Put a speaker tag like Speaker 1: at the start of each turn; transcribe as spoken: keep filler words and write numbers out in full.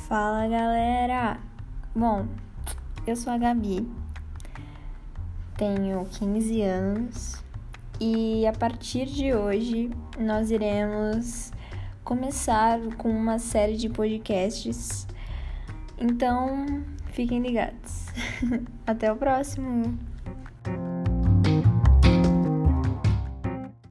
Speaker 1: Fala, galera! Bom, eu sou a Gabi, tenho quinze anos e a partir de hoje nós iremos começar com uma série de podcasts, então fiquem ligados. Até o próximo!